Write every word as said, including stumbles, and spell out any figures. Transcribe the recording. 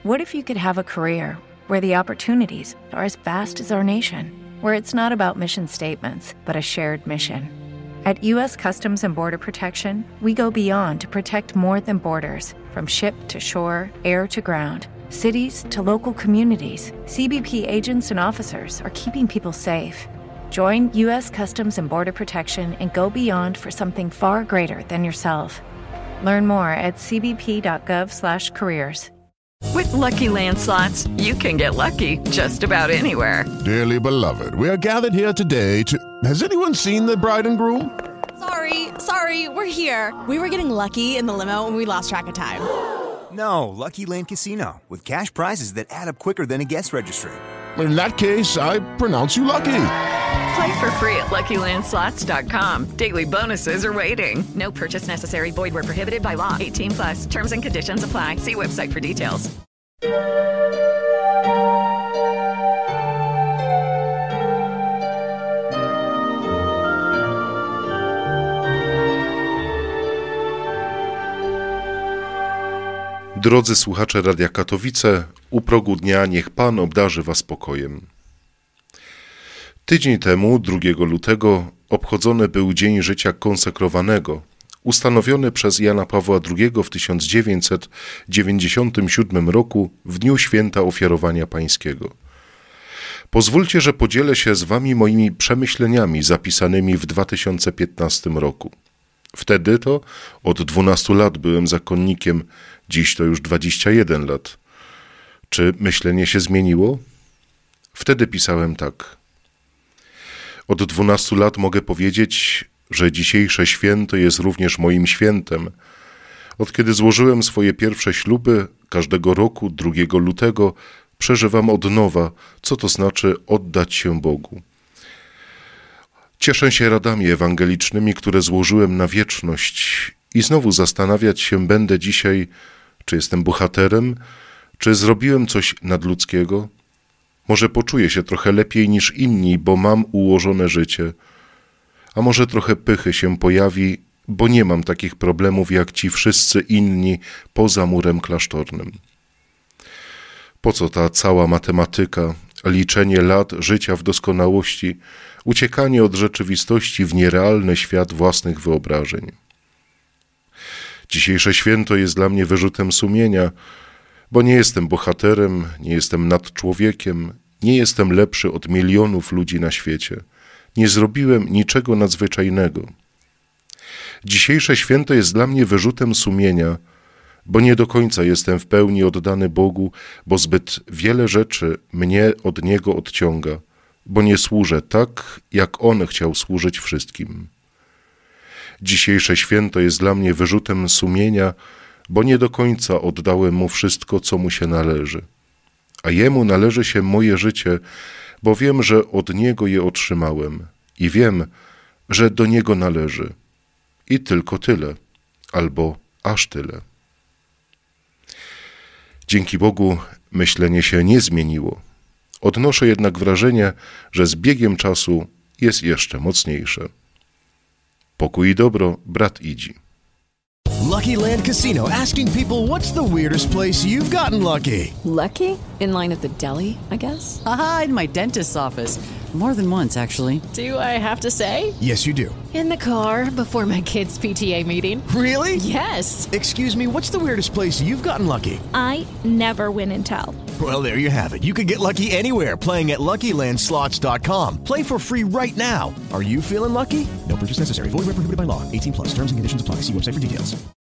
What if you could have a career where the opportunities are as vast as our nation, where it's not about mission statements, but a shared mission? At U S Customs and Border Protection, we go beyond to protect more than borders. From ship to shore, air to ground, cities to local communities, C B P agents and officers are keeping people safe. Join U S Customs and Border Protection and go beyond for something far greater than yourself. Learn more at c b p dot gov slash careers. With Lucky Land Slots, you can get lucky just about anywhere. Dearly beloved, we are gathered here today to... Has anyone seen the bride and groom? Sorry, sorry, we're here. We were getting lucky in the limo and we lost track of time. No, Lucky Land Casino, with cash prizes that add up quicker than a guest registry. In that case, I pronounce you lucky. Play for free at lucky land slots dot com. Daily bonuses are waiting. No purchase necessary. Void where prohibited by law. eighteen plus. Terms and conditions apply. See website for details. Drodzy słuchacze Radia Katowice, u progu dnia niech Pan obdarzy Was spokojem. Tydzień temu, drugiego lutego, obchodzony był Dzień Życia Konsekrowanego, ustanowiony przez Jana Pawła drugiego w tysiąc dziewięćset dziewięćdziesiątym siódmym roku w Dniu Święta Ofiarowania Pańskiego. Pozwólcie, że podzielę się z Wami moimi przemyśleniami zapisanymi w dwa tysiące piętnastym roku. Wtedy to od dwunastu lat byłem zakonnikiem, dziś to już dwadzieścia jeden lat. Czy myślenie się zmieniło? Wtedy pisałem tak. Od dwunastu lat mogę powiedzieć, że dzisiejsze święto jest również moim świętem. Od kiedy złożyłem swoje pierwsze śluby, każdego roku, drugiego lutego, przeżywam od nowa, co to znaczy oddać się Bogu. Cieszę się radami ewangelicznymi, które złożyłem na wieczność i znowu zastanawiać się będę dzisiaj, czy jestem bohaterem, czy zrobiłem coś nadludzkiego. Może poczuję się trochę lepiej niż inni, bo mam ułożone życie, a może trochę pychy się pojawi, bo nie mam takich problemów jak ci wszyscy inni poza murem klasztornym. Po co ta cała matematyka, liczenie lat życia w doskonałości, uciekanie od rzeczywistości w nierealny świat własnych wyobrażeń? Dzisiejsze święto jest dla mnie wyrzutem sumienia, bo nie jestem bohaterem, nie jestem nad człowiekiem, nie jestem lepszy od milionów ludzi na świecie. Nie zrobiłem niczego nadzwyczajnego. Dzisiejsze święto jest dla mnie wyrzutem sumienia, bo nie do końca jestem w pełni oddany Bogu, bo zbyt wiele rzeczy mnie od Niego odciąga, bo nie służę tak, jak On chciał służyć wszystkim. Dzisiejsze święto jest dla mnie wyrzutem sumienia, bo nie do końca oddałem Mu wszystko, co Mu się należy. A Jemu należy się moje życie, bo wiem, że od Niego je otrzymałem i wiem, że do Niego należy. I tylko tyle, albo aż tyle. Dzięki Bogu myślenie się nie zmieniło. Odnoszę jednak wrażenie, że z biegiem czasu jest jeszcze mocniejsze. Pokój i dobro, brat Idzi. Lucky Land Casino, asking people, what's the weirdest place you've gotten lucky? Lucky? In line at the deli, I guess? Aha, in my dentist's office. More than once, actually. Do I have to say? Yes, you do. In the car before my kids' P T A meeting. Really? Yes. Excuse me, what's the weirdest place you've gotten lucky? I never win and tell. Well, there you have it. You can get lucky anywhere, playing at lucky land slots dot com. Play for free right now. Are you feeling lucky? No purchase necessary. Void where prohibited by law. eighteen plus. Terms and conditions apply. See website for details.